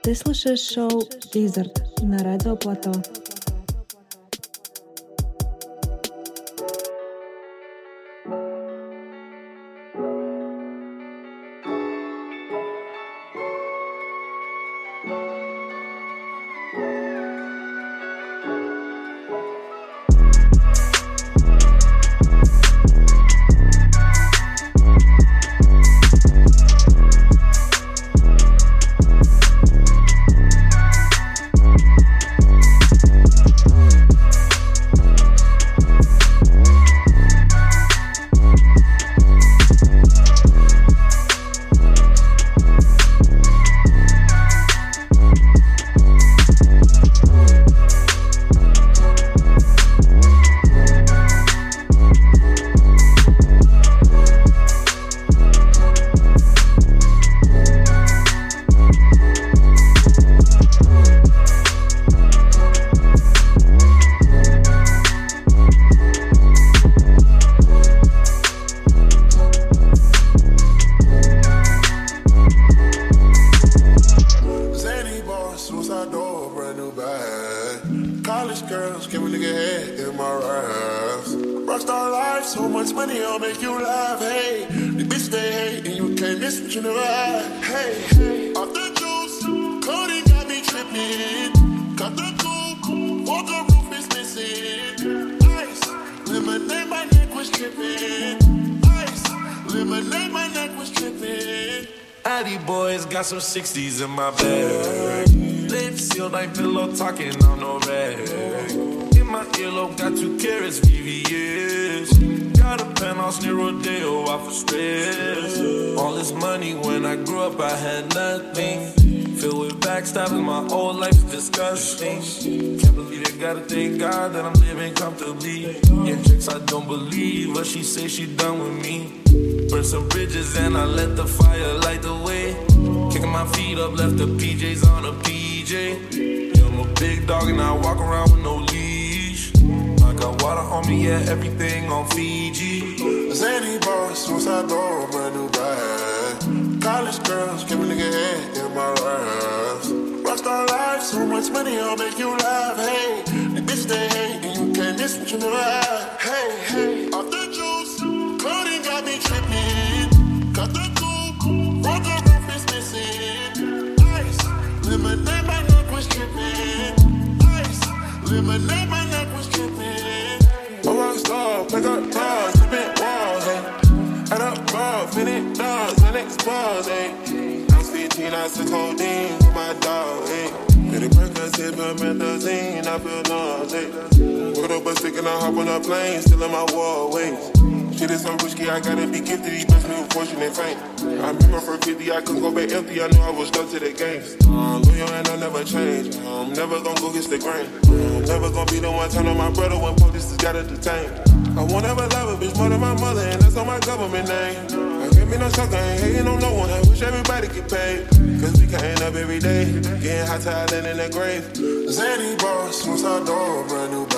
Ты слушаешь шоу «Дизерт» на Радио Плато. Some 60s in my bag. Lips sealed like pillow talking on no rag. In my earlobe got 2 carats, VVS. Got a penthouse near Rodeo off of stress. All this money when I grew up I had nothing. Filled with backstabbing, my whole life's disgusting. Can't believe it, gotta thank God that I'm living comfortably. In tricks I don't believe, but she say she done with me. Burn some bridges and I let the fire light the way. Kicking my feet up, left the PJs on a PJ. Yeah, I'm a big dog and I walk around with no leash. I got water on me, yeah, everything on Fiji. Zany boss, suicide door, brand new bag. College girls, give a nigga head in my raps. Rockstar life, so much money, I'll make you laugh. Hey, the bitch they hate, and you can't miss what you never had. Hey, hey, off the juice, clothing got me tripping. Cut the coupe, broke the roof is missing. Ice, lemonade, my neck was tripping. Ice, lemonade, my neck was tripping. A rockstar, pick up bars, tripping walls, eh. Add up bars, finish dogs, and expose, eh. I was 15, I took codeine with my dog, eh. Pretty Percocet, promethazine, I feel nauseous. Put up a stick and I hop on a plane, still in my wallways. Shit is so risky, I gotta be gifted. He blessed me with fortune and fame. I remember for 50, I couldn't go back empty. I knew I was stuck to the games. Loyal and I never change. I'm never gonna go against the grain. I'm never gonna be the one turn on my brother when police just gotta detain. I won't ever love a bitch more than my mother, and that's on my government name. I can't be no sucker, ain't hating on no one. I wish everybody get paid. Cause we can't up every day, getting hot talent in the grave. Zany boss, suicide door, brand new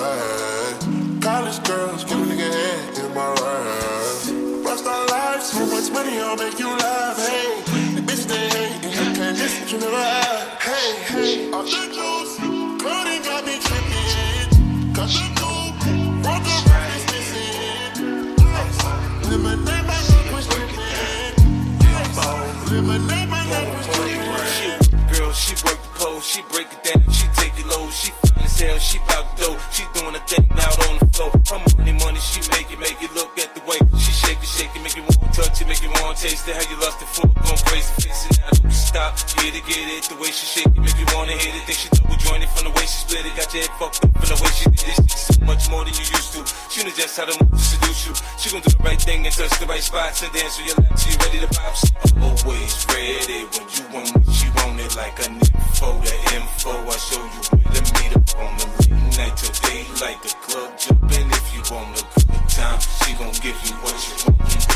bag. College girls, give a nigga head in my raps. Rockstar life, so much money, I'll make you laugh. Hey, the bitch they hate, and you can't miss what you never had. Hey, hey, off the juice, clothing got me tripping. Cut the coupe, broke the roof is missing. Ice, lemonade, my neck was tripping. Ice, lemonade, my neck was tripping. Girl, she work the pole, she break it down, she take it low, she fine as hell, she bout dough, she doing a thing out on the floor. Her money, she make it look at the way she shake it, make you want to touch it, make you want to taste it. How you lost it for, going crazy, facing out, don't stop, get it, the way she shake it, make you want to hit it. Think she double jointed from the way she split it, got your head fucked up from the way she did it. She's so much more than you used to. She knows just how to move to seduce you. She gon' do the right thing and touch the right spots and dance with your lap. She ready to pop. She always ready when you want it. She want it like a nympho. The info I show you where to meet up on the late night till daylight. The club jumping if you want a good time. She gon' give you what you want.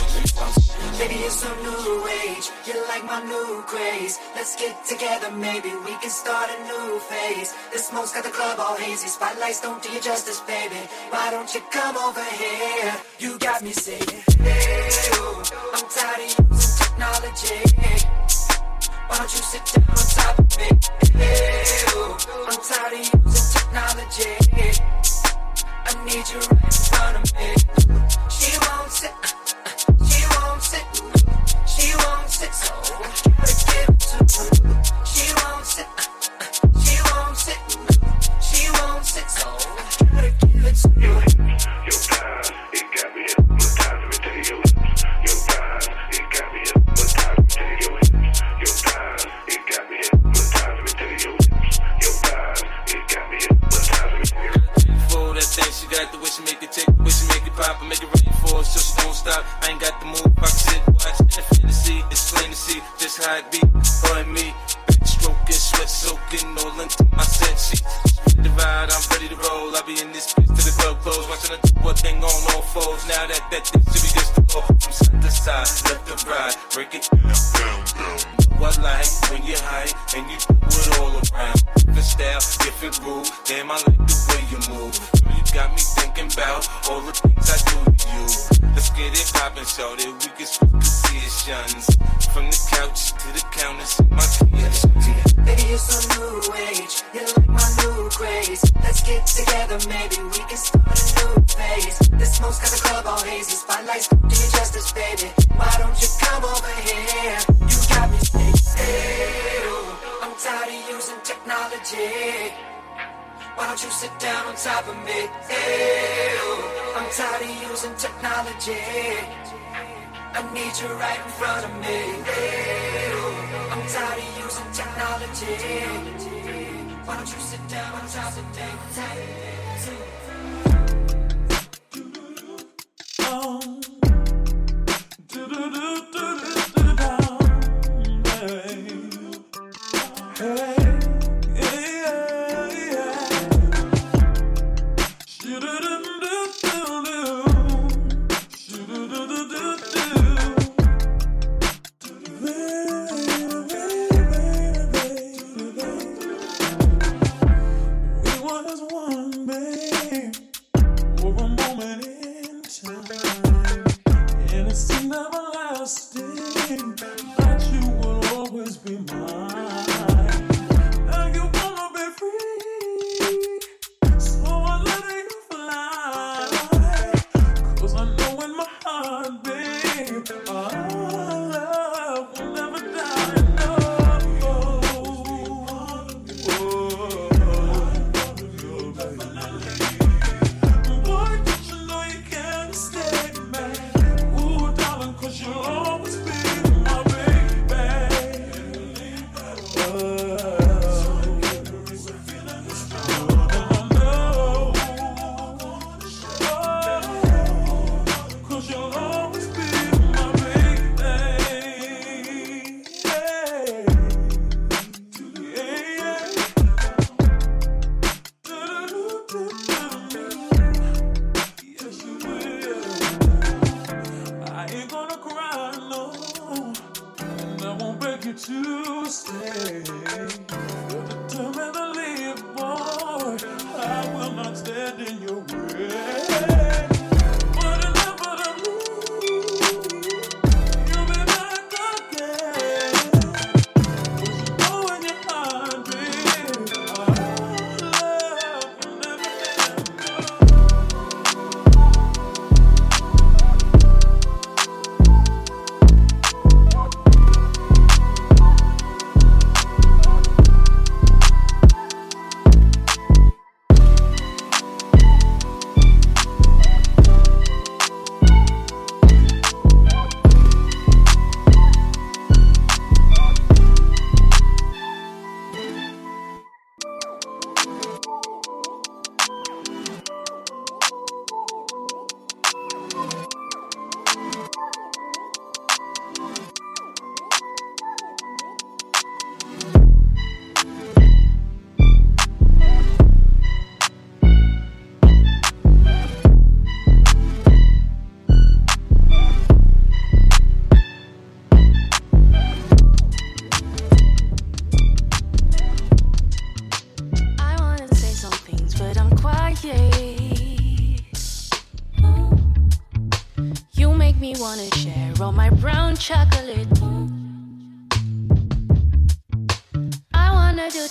Baby, it's a new age. You're like my new craze. Let's get together, maybe we can start a new phase. The smoke's got the club all hazy. Spotlights don't do you justice, baby. Why don't you come over here? You got me saying, hey, oh, I'm tired of using technology. Why don't you sit down on top of me? Ew, I'm tired of using technology. I need you right in front of me. She won't sit, she won't sit, she won't sit, so gotta give it to her. She won't sit, she won't sit, she won't sit, so gotta give it to her. Your thighs, it got me hypnotized. Let me tell you your lips. Your thighs, it got me hypnotized. Let me tell you your lips. Your thighs, it got me hypnotized. Let me tell you your lips. Your thighs, it got me hypnotized. Let me tell you. For that thing, she got the way she make it tick, the way she make it pop, and make it rain for her, so she don't stop. I ain't got the move, I can sit, watch, and fantasy. It's plain to see just how it be, her and me. Back stroking, sweat soaking, all into my set sheet. The ride, I'm ready to roll. I be in this bitch till the club close, watching her do what thing on all fours. Now that thing should be just a go from side to side, left to right, break it down. I like when you're high and you do it all around. Different style, different groove. Damn, I like the way you move. Girl, you got me thinking about all the things I do to you. Let's get it poppin', so that we can switch positions. From the couch to the counter, see my kids. Baby, you're so new age. You're like my new craze. Let's get together, maybe we can start a new phase. The smoke's got the club all hazy. Spotlights don't do you justice, baby. Why don't you come over here? You got me saying, I'm tired of using technology. Why don't you sit down on top of me? I'm tired of using technology. I need you right in front of me. I'm tired of using technology. Why don't you sit down on top of me?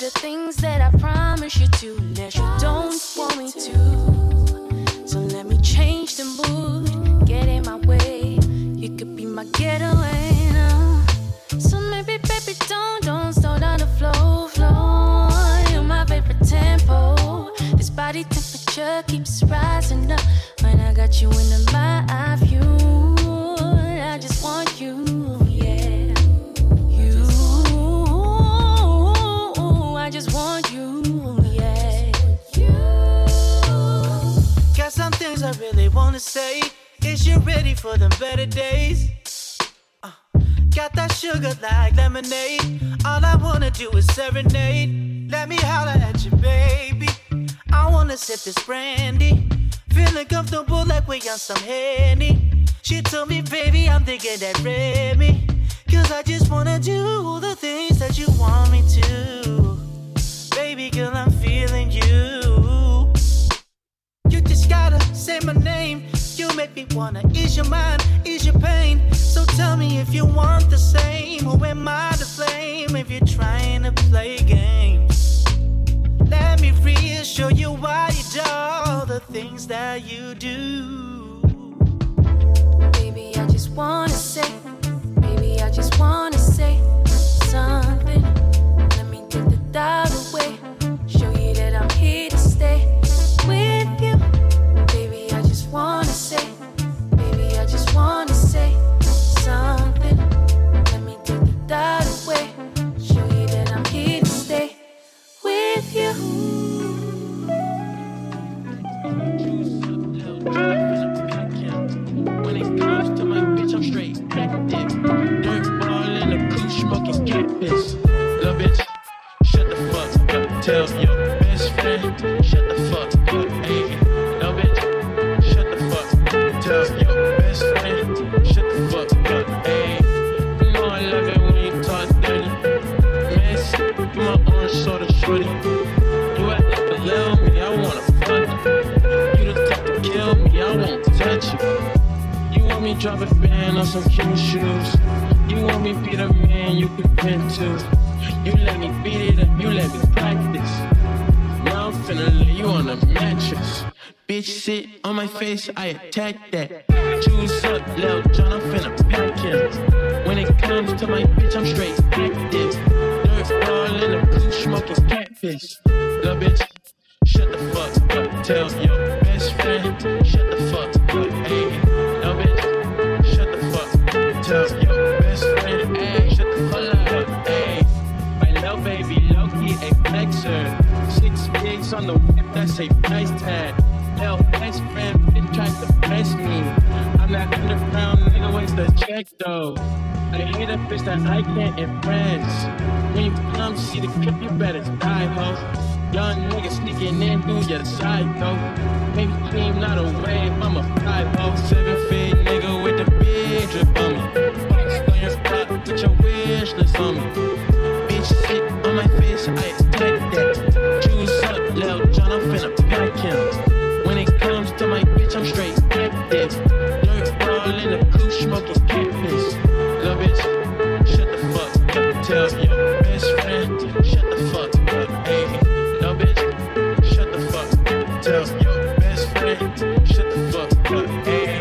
the things that I promised you to, unless you don't want me to. So let me change the mood, get in my way. You could be my getaway now. So maybe, baby, don't slow down the flow. You're my favorite tempo. This body temperature keeps rising up when I got you in my view. I just want you, yeah. You, I just want you, yeah. Got some things I really wanna say. Is you ready for them better days? Got that sugar like lemonade. All I wanna do is serenade. Let me holler at you, baby. I wanna sip this brandy. Feeling comfortable like we on some Henny. She told me, baby, I'm thinking that Remy. Cause I just wanna do the things that you want me to. Baby girl, I'm feeling you. You just gotta say my name. You make me wanna ease your mind, ease your pain. So tell me if you want the same. Who am I to blame if you're trying to play games? Let me reassure you why you do all the things that you do. Baby, I just wanna say, baby, I just wanna say something. Let me get the doubt away. Show you that I'm here to stay with you. Baby, I just wanna say, baby, I just wanna say something. Let me get the doubt away. Show you that I'm here to stay with you. When it comes to my bitch, I'm straight active. Dirt ball in the coupe, smoking catfish. Little bitch, shut the fuck up. Tell your best friend, shut the fuck up. Hey, little bitch, shut the fuck up. Tell your best friend, shut the fuck up. Hey, you know I love it when you talk dirty. Miss, you my orange soda shorty. You act like a little me, I wanna fuck you. You the type to kill me, I won't touch you. You want me drop a band on some cute shoes. You want me be the man you can pin to. You let me beat it up, you let me practice. Now I'm finna lay you on a mattress. Bitch sit on my face, I attack that. Juice up, Lil Jon, I'm finna pack him. When it comes to my bitch, I'm straight active. Dirt ball in the coupe, smoking catfish. Little bitch, shut the fuck up. Tell your best friend, shut the fuck up. Hey, little bitch, shut the fuck up. Tell your best friend, hey, shut the fuck up. Hey, my little baby, low-key a flexer. 6 gigs on the whip, that's a price tag. Little best friend, bitch tried to press me. I'm that underground nigga, where's the check though? I hate a bitch that I can't impress. When you come see the clip, you better die, ho. Young nigga sneaking in through your side, though. Maybe clean, not a wave, I'm a 5-0. 7-feet nigga with the big drip on me. Boxed on your block, put your wish list on me. Bitch sit on my face, I attack that. Juice up, Lil Jon, I'm finna pack him. When it comes to my bitch, I'm straight active. Dirt ball in the coupe, smoking catfish. Lil' bitch, shut the fuck up. Tell your best friend, shut the fuck up. Hey, lil' bitch, shut the fuck up. Tell your best friend, shut the fuck up. Hey.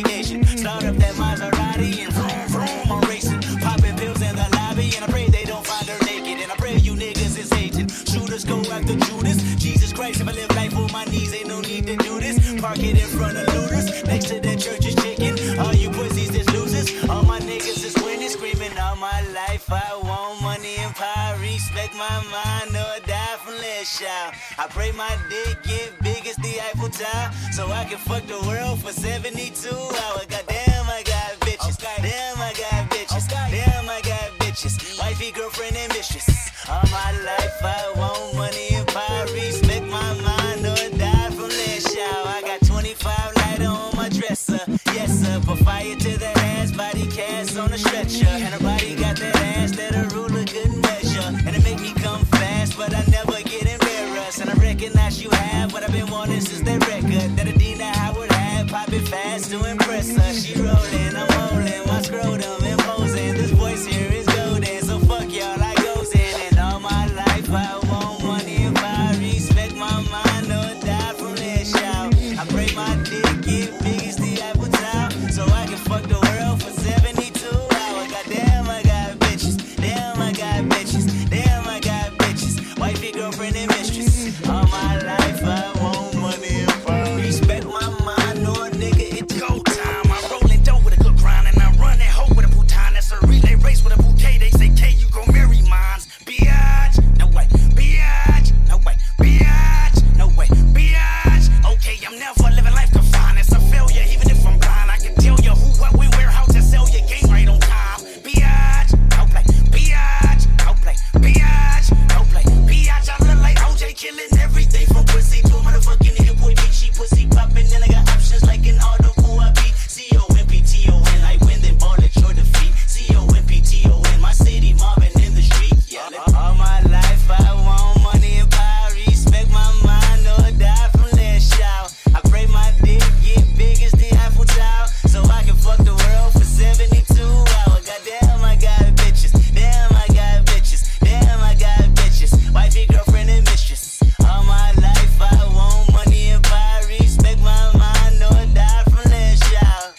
vacation. Start up that Maserati and vroom, vroom, I'm racing. Popping pills in the lobby and I pray they don't find her naked. And I pray you niggas is hating. Shooters go after Judas. Jesus Christ, if I live life on my knees, ain't no need to do this. Park it in front of looters. Next to the church is chicken. All you pussies is losers. All my niggas is winning. Screaming all my life. I want money and power. Respect my mind or die from less shout. I pray my dick get big as the Eiffel Tower, so I can fuck the world for 72 hours. Goddamn, I got bitches. Damn, I got bitches. Damn, I got bitches. Wifey, girlfriend, and mistress. All my life I want money and power. Respect my mind or die from less shout. I got 25 lighter on my dresser. Yes, sir. Put fire to that ass, body cast on a stretcher. And her body got that ass that a ruler couldn't measure. And it make me come fast, but I never get embarrassed. And I recognize you have what I've been wanting since that record that Adina Howard had. Popping fast to impress her. She rolling, I'm holding my scrotum imposing. This voice here is golden, so fuck y'all, I goes in. And all my life I want money and power. Respect my mind or die from that shout. I pray my dick get big as the Eiffel Tower, so I can fuck the world for 72 hours. Goddamn, I got bitches. Damn, I got bitches. Damn, I got bitches. Wifey, girlfriend, and mistress. All my life I want money and power. Respect my mind or nigga, it's go time. I'm rolling dough with a good grind and I run that hoe with a bouton. That's a relay race with a bouquet. They say, K, you gon' marry mines. Biatch, no way. Biatch, no way. Biatch, no way. Biatch. Okay, I'm never living life confined. It's a failure, even if I'm blind. I can tell you who, what, when, where, how to sell your game right on time. Biatch, no play. Biatch, no play. Biatch, no play. Biatch, I look like OJ killing everything from pussy to a motherfucking hit boy bitch. She pussy popping, then I got options like an auto I beat. C-O-M-P-T-O-N, like win, then ball at your defeat. C-O-M-P-T-O-N, my city mobbing in the street. Yeah, all my life I want money and power. Respect my mind or die from less shout. I pray my dick get big as the Eiffel Tower, so I can fuck the world for 72 hours. Goddamn, I got bitches. Damn, I got bitches. Damn, I got bitches. Wifey, girlfriend, and mistress. All my life I want money and power. Respect my mind or die from less shout.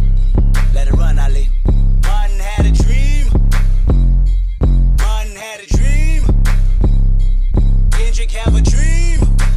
Let it run, Ali. Martin had a dream. Martin had a dream. Kendrick have a dream.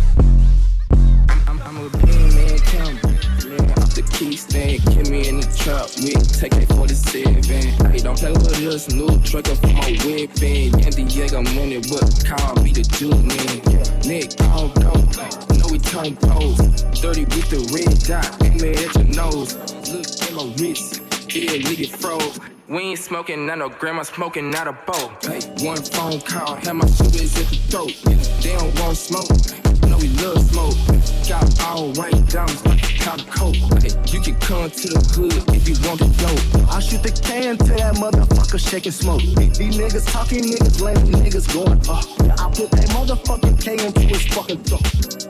I'm a bean man, Campbell. Man, off the key stand, kill me in the trap. We take a 47. Hey, don't play with us, new trucker for my weapon. Yandy Diego money, but call me the Duke man. Nick, I don't know. Know we turn pose. 30 with the red dot, aim it at your nose. Look at my wrist, yeah, nigga froze. We ain't smoking, not no grandma smoking, not a bowl. Hey, one phone call, have my shooters at the throat. They don't want smoke, know we love smoke. Got all white diamonds like a cop coat. Hey, you can come to the hood if you want to go. I shoot the can to that motherfucker shaking smoke. These niggas talking, niggas lame, niggas going up. I put that motherfucking K into his fucking throat.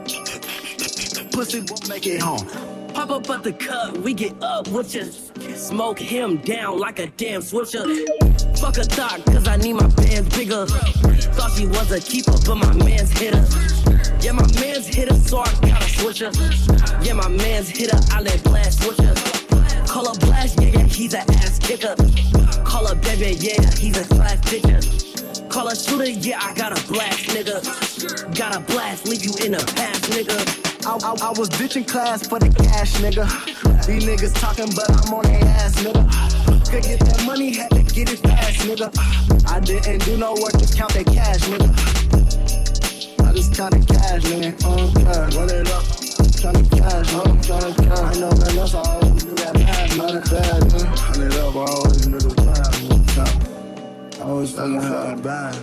Pussy won't make it home. Pop up at the cut, we get up with ya. Smoke him down like a damn switcher. Fuck a thought, cause I need my bands bigger. Thought she was a keeper, but my man's hit her. Yeah, my man's hit her, so I gotta switch her. Yeah, my man's hit her, I let blast switch her. Call her blast, yeah, he's an ass kicker. Call her baby, yeah, he's a class pitcher. Call her shooter, yeah, I got a blast, nigga. Got a blast, leave you in the past, nigga. I was ditching class for the cash, nigga. These niggas talking, but I'm on their ass, nigga. Could get that money, had to get it fast, nigga. I didn't do no work, just count that cash, nigga. I just counted cash, nigga. Run it up, counting cash, I know, man, that's all I always do that math, not a bad, nigga. Run it up, I always do the math, I always fucking felt bad.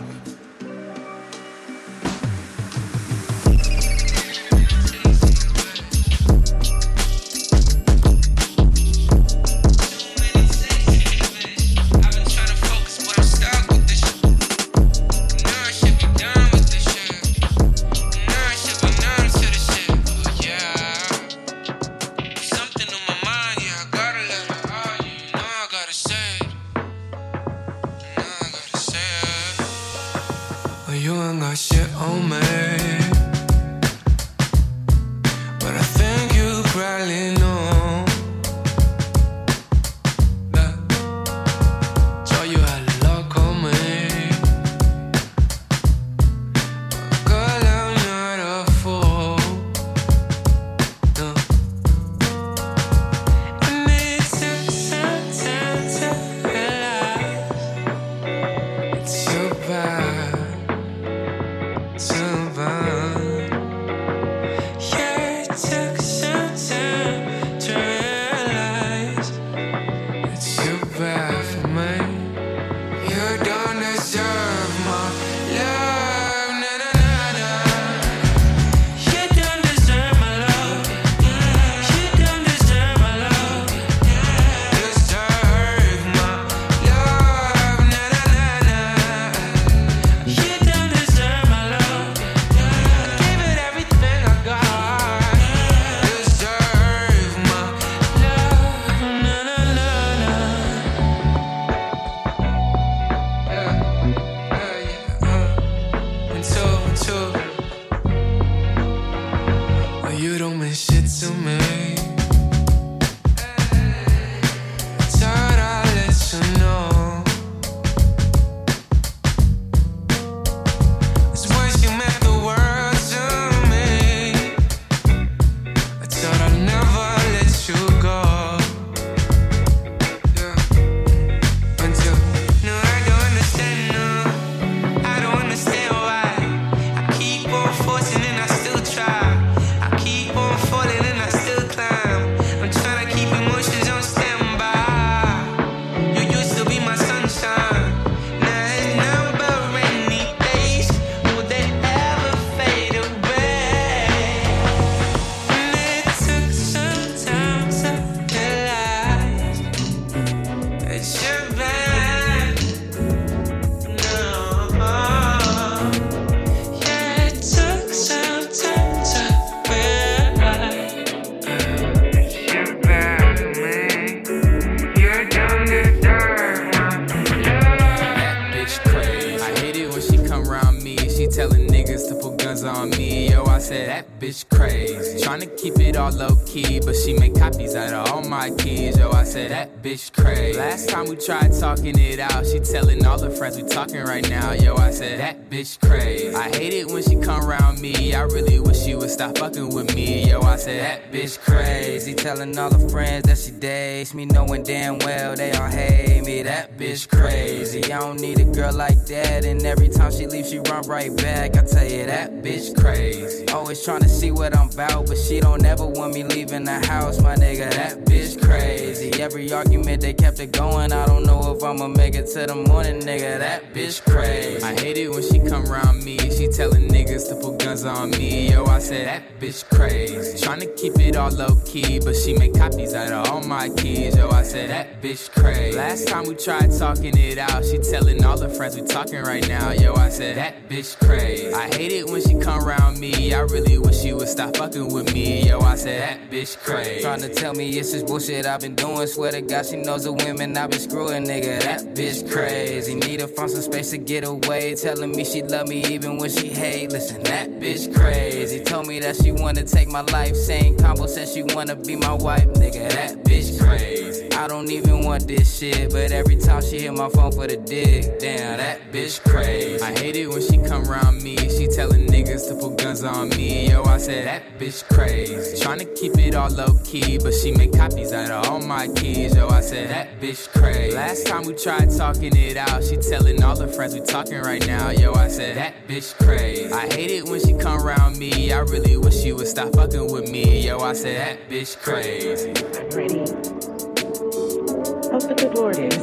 said, that bitch crazy. Tryna keep it all low key, but she make copies out of all my keys. Yo, I said, that bitch crazy. Last time we tried talking it out, she telling all her friends we talking right now. Yo, I said, that bitch crazy. I hate it when she come around me. I really wish she would stop fucking with me. Yo, I said, that bitch crazy. Telling all her friends that she dates me, knowing damn well they all hate me. That bitch crazy. I don't need a girl like that, and every time she leaves, she run right back. I tell you, that bitch crazy. Always trying to see what I'm about, but she don't ever want me leaving the house, my nigga. That bitch crazy. Every argument they kept it going. I don't know if I'ma make it to the morning, nigga. That bitch crazy. I hate it when she come around me. She telling niggas to put guns on me. Yo, I said, that bitch crazy. Tryna keep it all low key, but she make copies out of all my keys. Yo, I said, that bitch crazy. Last time we tried talking it out, she telling all her friends we talking right now. Yo, I said, that bitch crazy. I hate it when she come around me. I really wish she would stop fucking with me. Yo, I said, that bitch crazy. Trying to tell me it's just bullshit I've been doing. Swear to God she knows the women I've been screwing, nigga. That bitch crazy. Need to find some space to get away. Telling me she love me even when she hate. Listen, that bitch crazy. Told me that she wanna take my life. Saying combo said she wanna be my wife, nigga. That bitch crazy. I don't even want this shit, but every time she hit my phone for the dick, damn, that bitch crazy. I hate it when she come around me. She telling niggas to put guns on me. Yo, I said, that bitch crazy. Tryna keep it all low key, but she make copies out of all my keys. Yo, I said, that bitch crazy. Last time we tried talking it out, she telling all her friends we talking right now. Yo, I said, that bitch crazy. I hate it when she come around me. I really wish she would stop fucking with me. Yo, I said, that bitch crazy. Ready? Hope the good Lord is.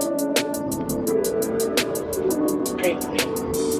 Pray for me.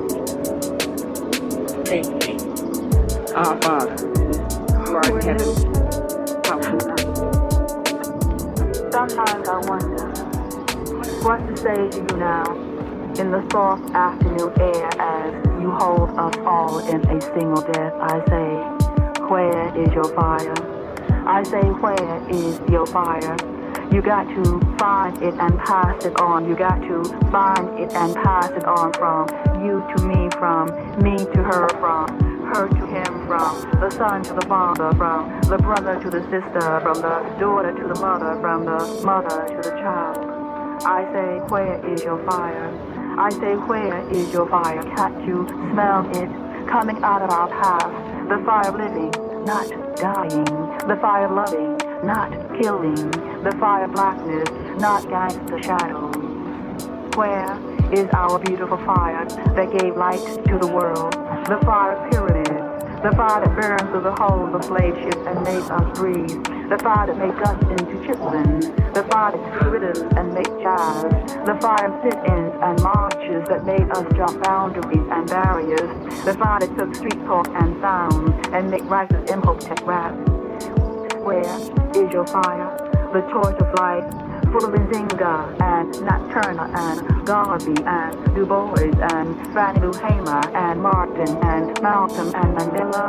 Pray for me. Our Father, who art in heaven, hallowed be thy name. Sometimes I wonder what to say to you now in the soft afternoon air as you hold us all in a single breath. I say, where is your fire? I say, where is your fire? You got to find it and pass it on. You got to find it and pass it on from you to me, from me to her, from her to him, from the son to the father, from the brother to the sister, from the daughter to the mother, from the mother to the child. I say, where is your fire? I say, where is your fire? Can't you smell it coming out of our path? The fire of living, not dying. The fire of loving, not killing. The fire of blackness, not gangster shadows. Where is our beautiful fire that gave light to the world? The fire of pyramids, the fire that burned through the hulls of slave ships and made us breathe. The fire that made us into chitlins. The fire that took rhythms and make jazz. The fire of sit-ins and marches that made us jump boundaries and barriers. The fire that took street talk and sounds and make righteous Imhotep rap. Where is your fire? The torch of life, full of Nzinga and Nat Turner and Garvey and Du Bois and Fannie Lou Hamer and Martin and Malcolm and Mandela.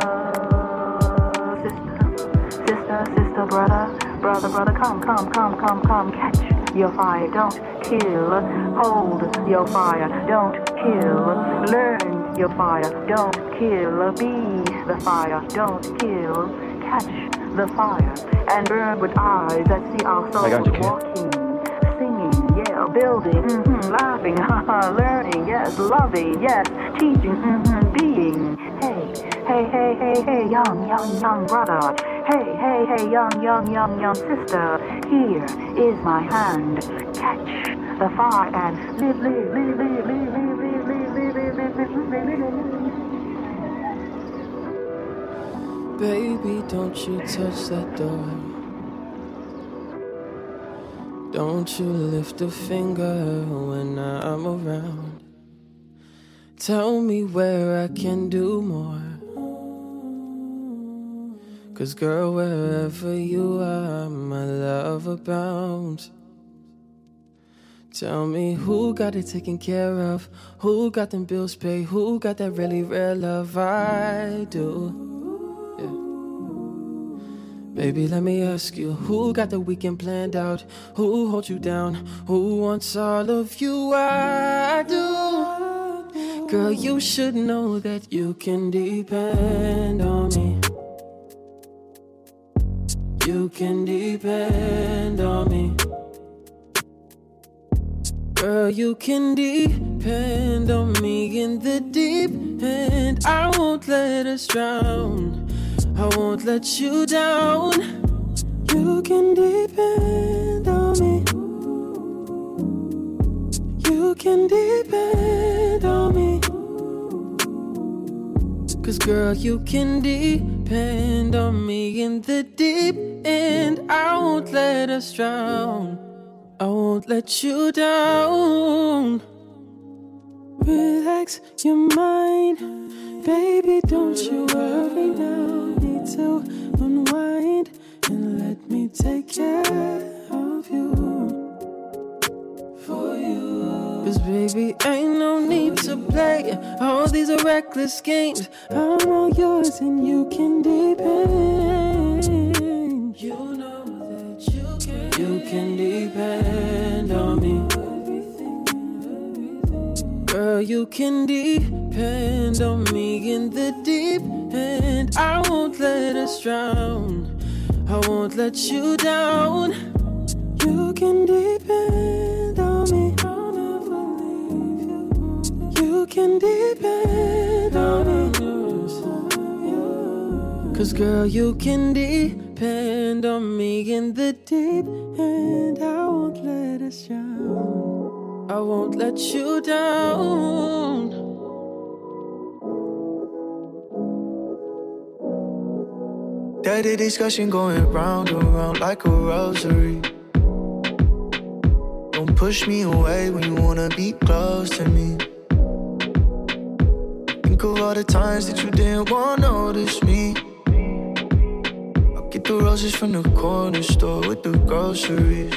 Sister, brother, come, catch your fire, don't kill, hold your fire, don't kill, learn your fire, don't kill, be the fire, don't kill, catch the fire, and burn with eyes that see our souls walking, singing, yeah, building, laughing, learning, yes, loving, yes, teaching, being, hey, young brother, hey, young sister, here is my hand, catch the fire and live. Baby, don't you touch that door. Don't you lift a finger when I'm around. Tell me where I can do more. 'Cause girl, wherever you are, my love abounds. Tell me who got it taken care of, who got them bills paid, who got that really real love. I do. Baby, let me ask you, who got the weekend planned out? Who holds you down? Who wants all of you? I do. girl, you should know that you can depend on me. You can depend on me. Girl, you can depend on me in the deep end. I won't let us drown. I won't let you down. You can depend on me. You can depend on me. 'Cause girl, you can depend on me in the deep end. I won't let us drown. I won't let you down. Relax your mind, baby, don't you worry now. Need to unwind and let me take care of you. For you. 'Cause baby, ain't no need to play all these reckless games. I'm all yours and you can depend. You know that you can depend on me. Girl, you can depend on me in the deep end. I won't let us drown. I won't let you down. You can depend on me. I'll never leave you. You can depend on me. 'Cause girl, you can depend on me in the deep end. I won't let us drown. I won't let you down. Dirty discussion going round and round like a rosary. Don't push me away when you wanna be close to me. Think of all the times that you didn't wanna notice me. I'll get the roses from the corner store with the groceries.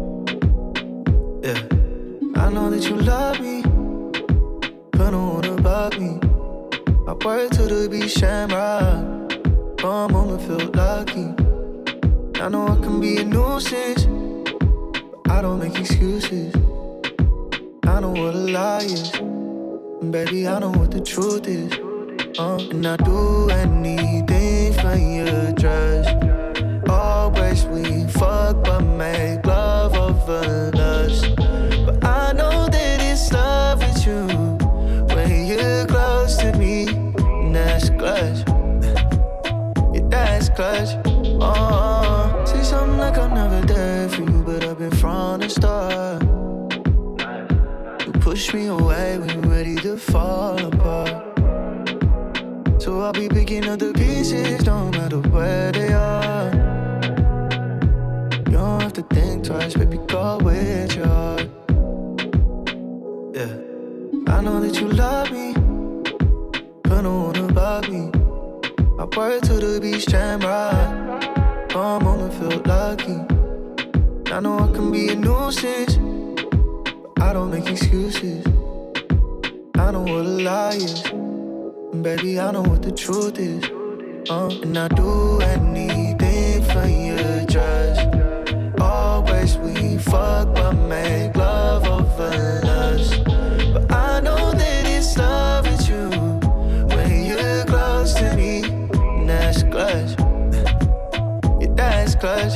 Yeah, I know that you love me, but don't wanna bug me. I work to the beach Shamrock. For a moment feel lucky. I know I can be a nuisance, but I don't make excuses. I know what a lie is, and baby, I know what the truth is. And I do anything for your trust. Always we fuck but make love over lust. But I know that it's love with you when you're close to me, and that's clutch. That's clutch. Say something like I'm never there for you, but I've been from the start. You push me away when you're ready to fall apart. So I'll be picking up the pieces, no matter where they are. You don't have to think twice, baby, go with your heart. Yeah, I know that you love me, but don't wanna bug me. I work to the beach Shamrock. For a moment feel lucky. I know I can be a nuisance, but I don't make excuses. I know what a lie is, and baby, I know what the truth is. And I do anything for your trust. Always we fuck but make love over lust. But I know that it's love with you when you're close to me. That's clutch. Yeah, that's clutch.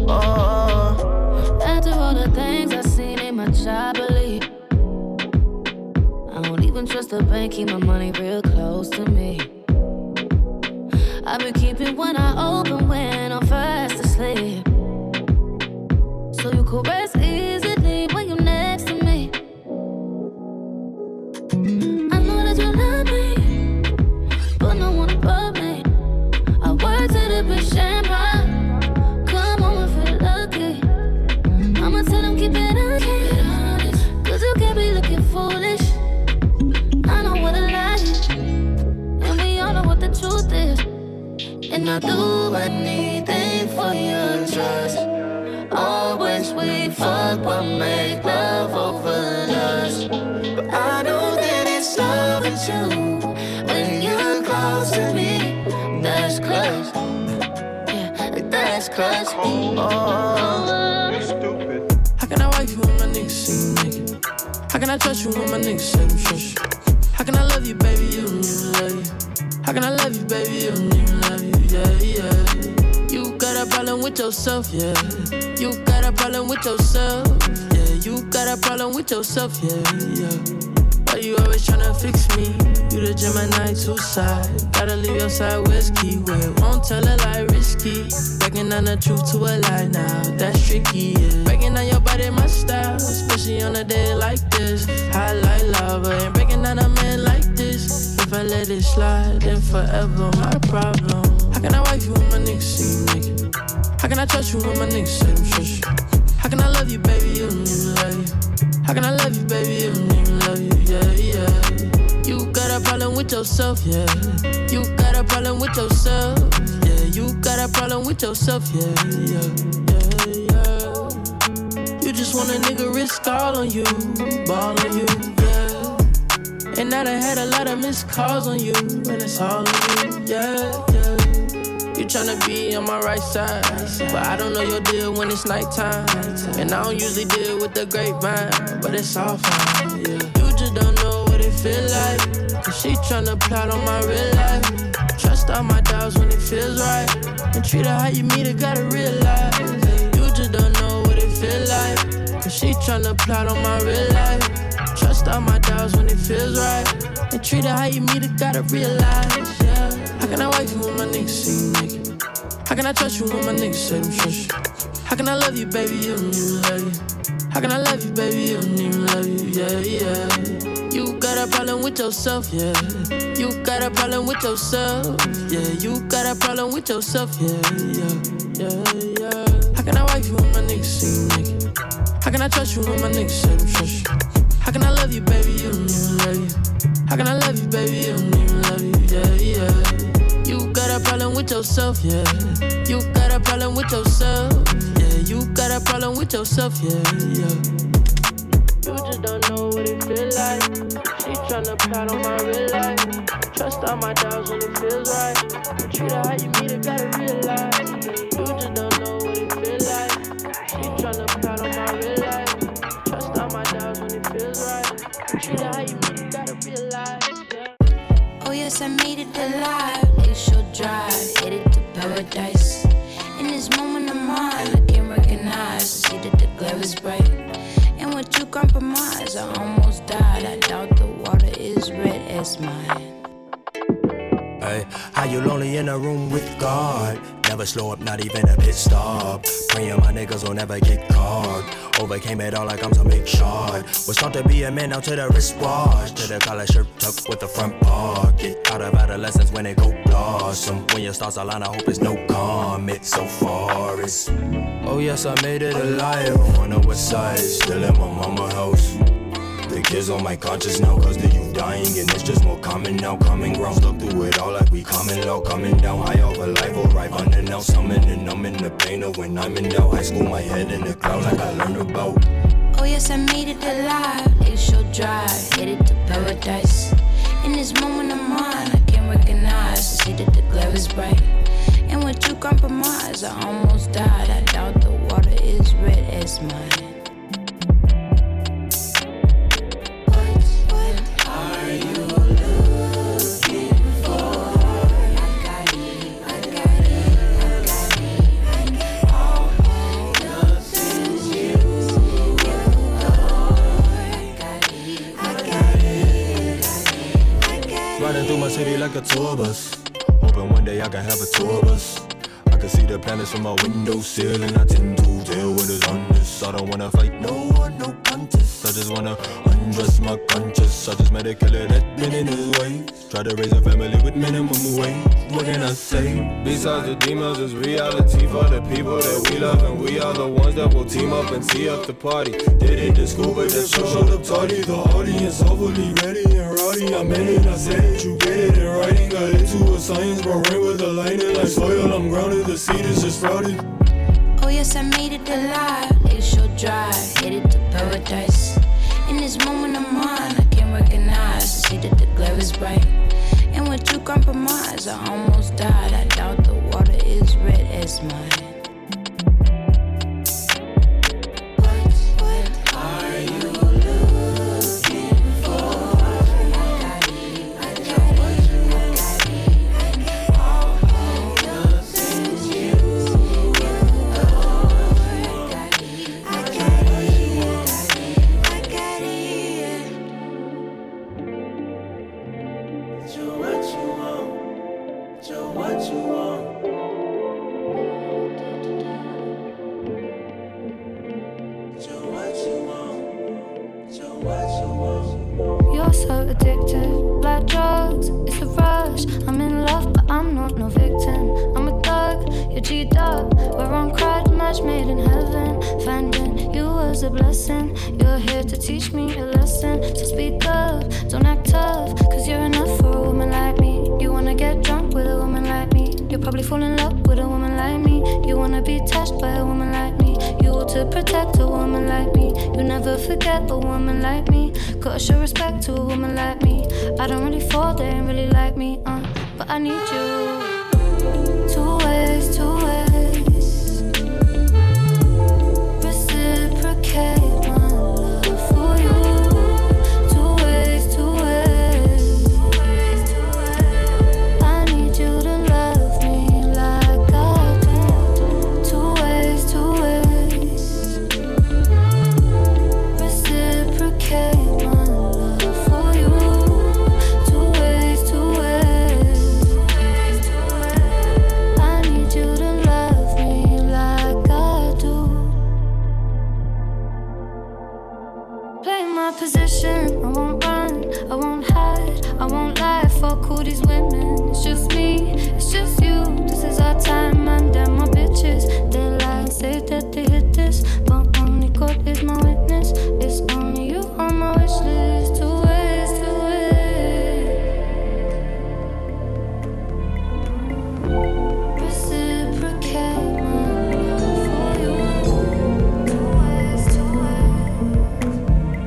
After all the things I seen in my child believe, I don't even trust the bank, keep my money real close to me. I've been keeping one eye open when I'm fast asleep, so you could rest easily when you're next to me. I know that you love me, but no one above me. Words to the bitch Shamrock. Come on and feel lucky. I'ma tell them keep it honest, 'cause you can't be looking foolish. I know what a lie is, and we all know what the truth is. And I do anything for your trust. Always we fuck but make love over lust. But I know that it's love with you when you're close to me. That's clutch. Yeah, that's clutch. Stupid. How can I wife you when my niggas say you naked? How can I trust you when my niggas say you shush? How How can I love you, baby? You don't even love you. How can I love you, baby? You don't even love you. Yeah. You got a problem with yourself, yeah. You got a problem with yourself, yeah. You got a problem with yourself, yeah. Why you always tryna fix me? You the Gemini 2 side. Gotta leave your side whiskey. Wait, won't tell a lie, risky. Breaking down the truth to a lie now, that's tricky, yeah. Breaking down your body, my style, especially on a day like this. High like lava, ain't breaking down a man like this. If I let it slide, then forever my problem. How can I wife you when my niggas see you naked? How can I trust you when my niggas say them shush? How can I love you, baby? You don't even love you. How can I love you, baby? You don't even love you, yeah. You got a problem with yourself, yeah. You got a problem with yourself, yeah. You got a problem with yourself, yeah. You just want a nigga risk all on you, ball on you, yeah. And now I had a lot of missed calls on you, and it's all on you, yeah. You tryna be on my right side, but I don't know your deal when it's nighttime. And I don't usually deal with the grapevine, but it's all fine, yeah. You just don't know what it feel like, cause she tryna plot on my real life. Trust all my doubts when it feels right, and treat her how you meet her, gotta realize. You just don't know what it feel like, cause she tryna plot on my real life. Trust all my doubts when it feels right, and treat her how you meet her, gotta realize, yeah. How can I wife you when my niggas see you naked? How can I trust you when my niggas say them shush? How can I love you, baby? You don't even love you. How can I love you, baby? You don't even love you, yeah. You got a problem with yourself, yeah. You got a problem with yourself, yeah. You got a problem with yourself, yeah. How can I wife you when my niggas see you naked? How can I trust you when my niggas say them shush? How can I love you, baby? You don't even love you. How can I love you, baby? You don't even love you, yeah. You got a problem with yourself, yeah. You got a problem with yourself, yeah. You got a problem with yourself, yeah. You just don't know what it feel like. She tryna plot on my real life. Trust all my doubts when it feels right. Treat her how you meet her, gotta realize. You just don't know what it feel like. She tryna plot on my real life. Trust all my doubts when it feels right. Treat her how you meet her, gotta realize, yeah. Oh yes, I made it alive. Lakeshore Drive, headed to paradise. In this moment of mine, I can't recognize. See that the glare is bright. And with you compromise, I almost died. I doubt the water is red as mine. Hey, how you lonely in a room with God? Never slow up, not even a pit stop. Praying my niggas will never get caught. Overcame it all like I'm some big shot. Was taught to be a man down to the wristwatch. To the collar shirt tucked with the front pocket. Out of adolescence when it go blossom. When your stars align, I hope it's no comet. So far it's, oh yes, I made it alive. On the west side, still in my mama house. The kids on my conscience now, cause the youth dying, and it's just more common now. Coming ground, stuck through it all like we coming low. Coming down high off a life, arrive under now. Summoning, I'm in the pain of when I'm in doubt. High school, my head in the cloud like I learned about. Oh yes, I made it alive. Lakeshore Drive, headed to paradise. In this moment of mine, I can't recognize. See that the glare is bright. And with you compromise, I almost died. I doubt the water is red as mine. Riding through my city like a tour bus. Hoping one day I can have a tour bus. I can see the planets from my windowsill, and I tend to tell what is on this. I don't wanna fight no one, no contest. I just wanna undress my conscience. I just met a killer that been in his ways. Try to raise a family with minimum wage. What can I say? Besides the demons, it's reality for the people that we love, and we are the ones that will team up and tee up the party. Did it to school, but that show showed up tardy. The audience overly ready and rowdy. I meant it, I said it, you get it in writing. Got into a science, but rain with the lightning like soil. I'm grounded, the seed is just sprouted. Oh yes, I made it alive. Lakeshore Drive, headed to paradise. In this moment of mine, I can't recognize. See that the glare is bright. And with you compromise, I almost died. I doubt the water is red as mine. What are you looking for? You're so addictive, like drugs, it's a rush. I'm in love, but I'm not no victim. I'm a thug, you're G'd up. We're on crowd match made in heaven. Finding you was a blessing. You're here to teach me a lesson. So speak up, don't act tough, cause you're enough for a woman like me. You wanna get drunk with a woman like me. You'll probably fall in love with a woman like me. You wanna be touched by a woman like me. You ought to protect a woman like me. You never forget a woman like me. Gotta show respect to a woman like me. I don't really fall, they ain't really like me, but I need you. Two ways, two ways. Reciprocate my love for you. Two ways, two ways. I need you to love me like I do. Two ways, two ways. Reciprocate. Position. I won't run, I won't hide, I won't lie. Fuck all these women, it's just me, it's just you. This is our time, man, damn my bitches. They lie and say that they hit this, but only God is my witness. It's only you on my wish list. Two ways, two ways. Reciprocate my love for you. Two ways, two ways.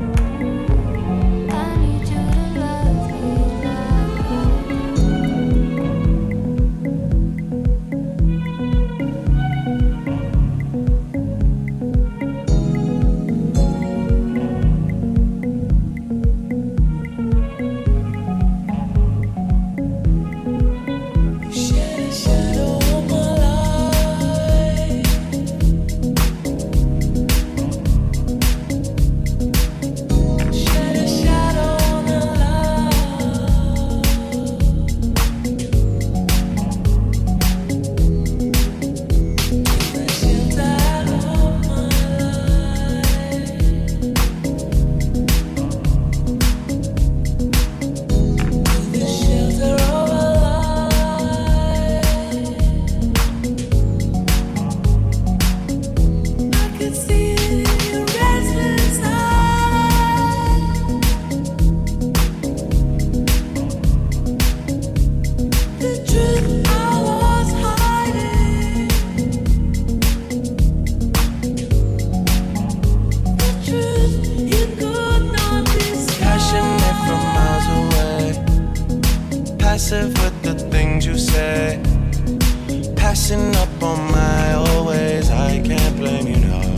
With the things you say, passing up on my always. I can't blame you, no.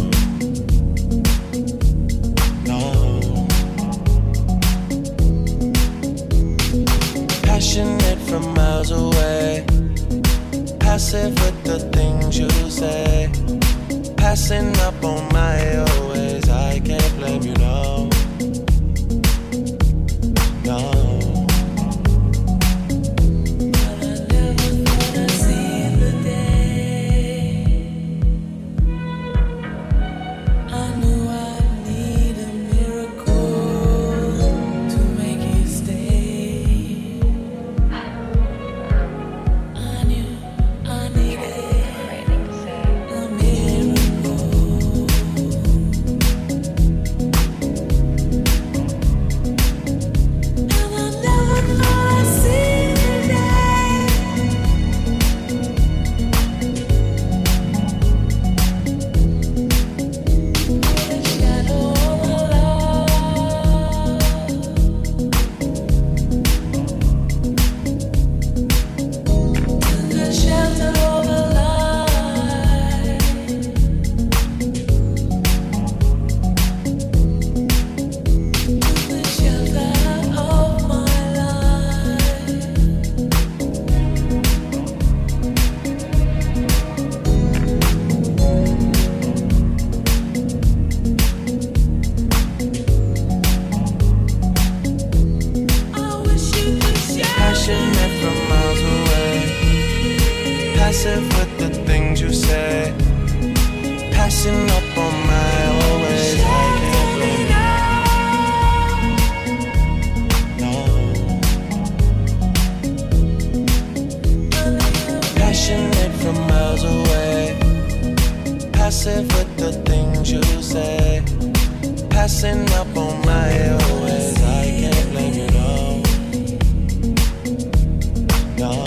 Passionate from miles away, passive with the things you say, passing up on my always. I can't blame you, no. messing up on my airways. I can't blame you, no.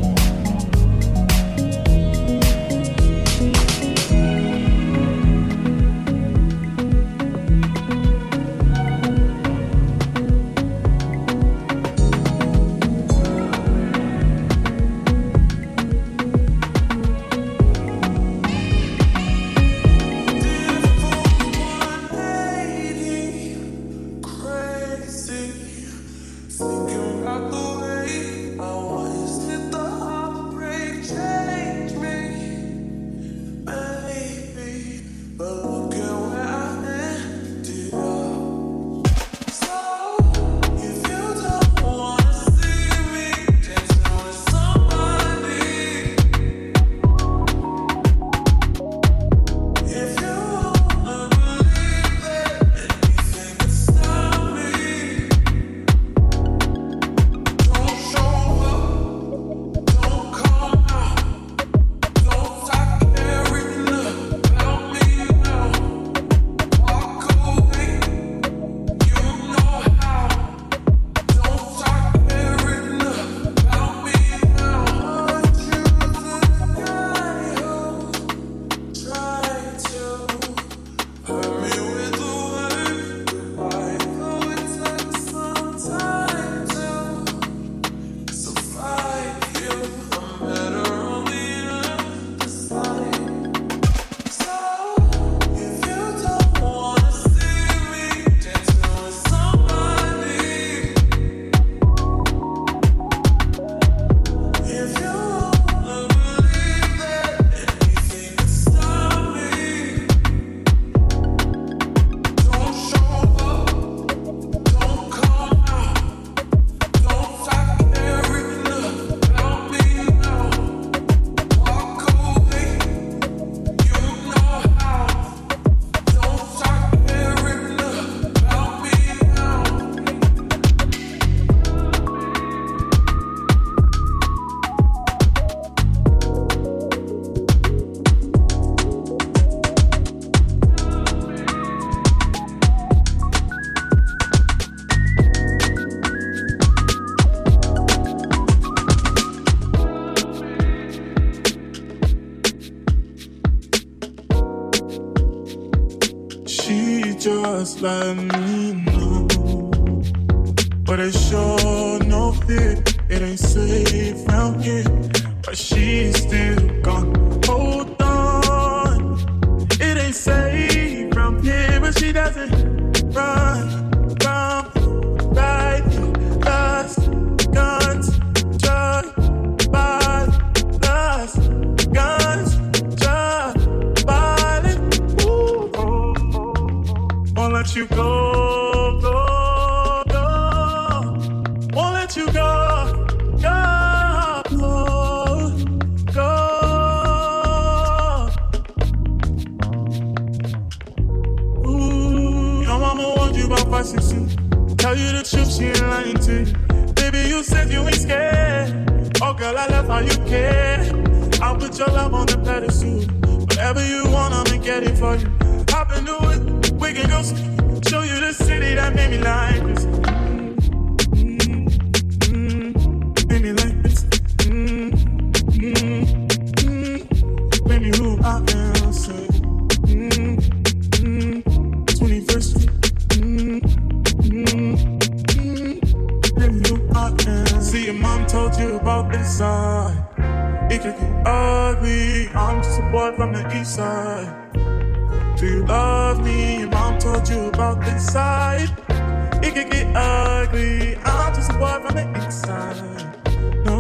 Just let me know, but it sure no fit. It ain't safe round here, but she's still gone. Hold on, it ain't safe round here, but she doesn't run from right here. Lost guns, just by lost guns, just by won't let you go, go, go. Won't let you go, go, go, go. Ooh, your mama warned you about 5, 6, 2. Tell you the truth, she ain't lying to you. Baby, you said you ain't scared. Oh, girl, I love how you care. I'll put your love on the pedestal. Whatever you want, I'ma get it for you. Hop into it. We can go show you the city that made me like this. Made me like this. Made me who I am. Say, 21st Street. Made me who I am. See, your mom told you about this side. It could get ugly. I'm just a boy from the east side. Do you love me? Your mom told you about this side. It could get ugly. I'm just a boy from the inside. No.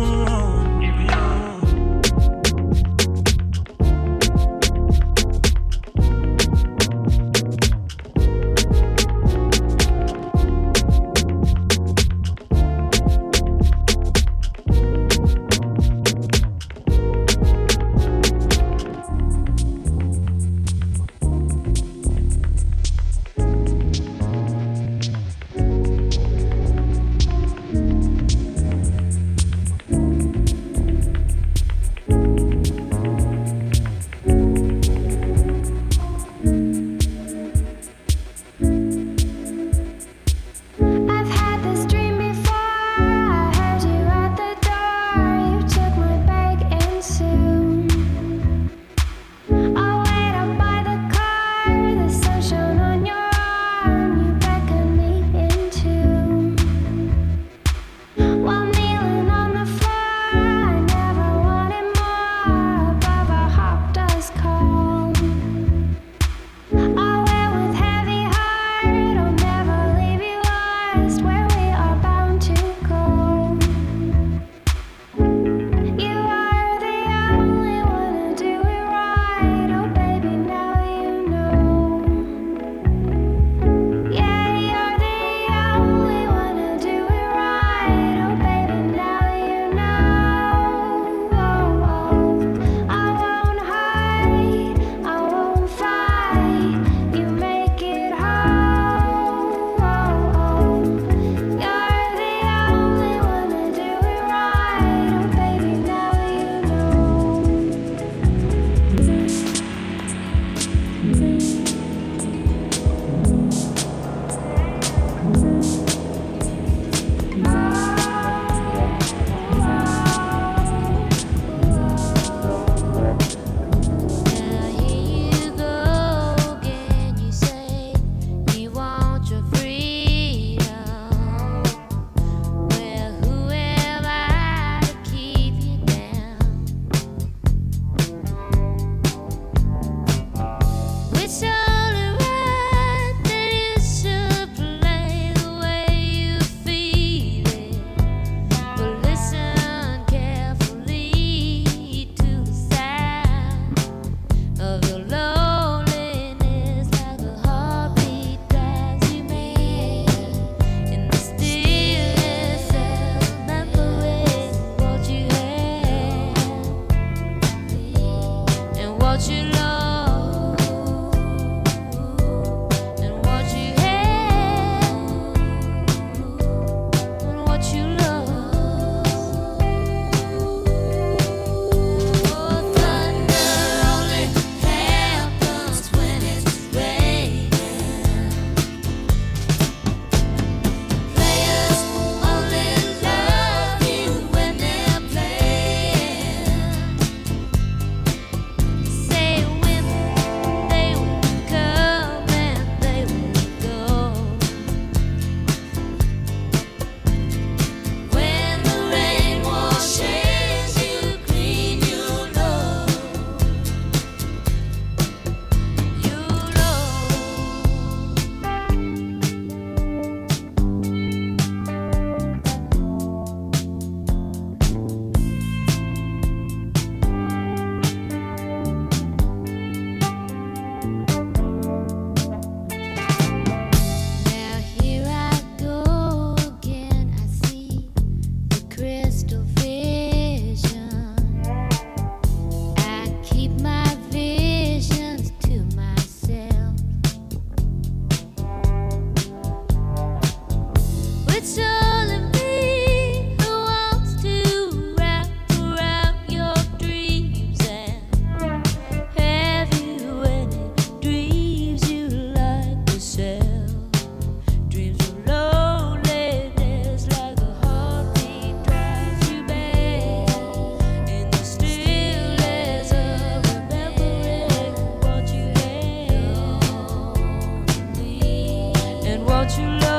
true love.